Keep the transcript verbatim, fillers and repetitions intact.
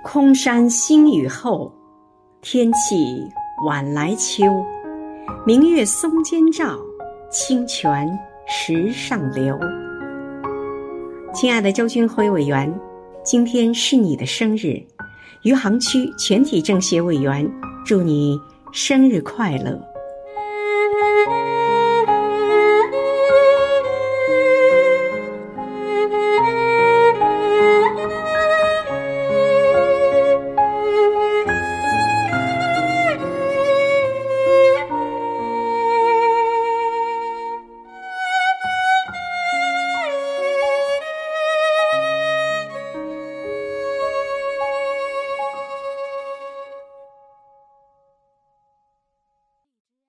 空山新雨后，天气晚来秋。明月松间照，清泉石上流。亲爱的周军辉委员，今天是你的生日，余杭区全体政协委员祝你生日快乐。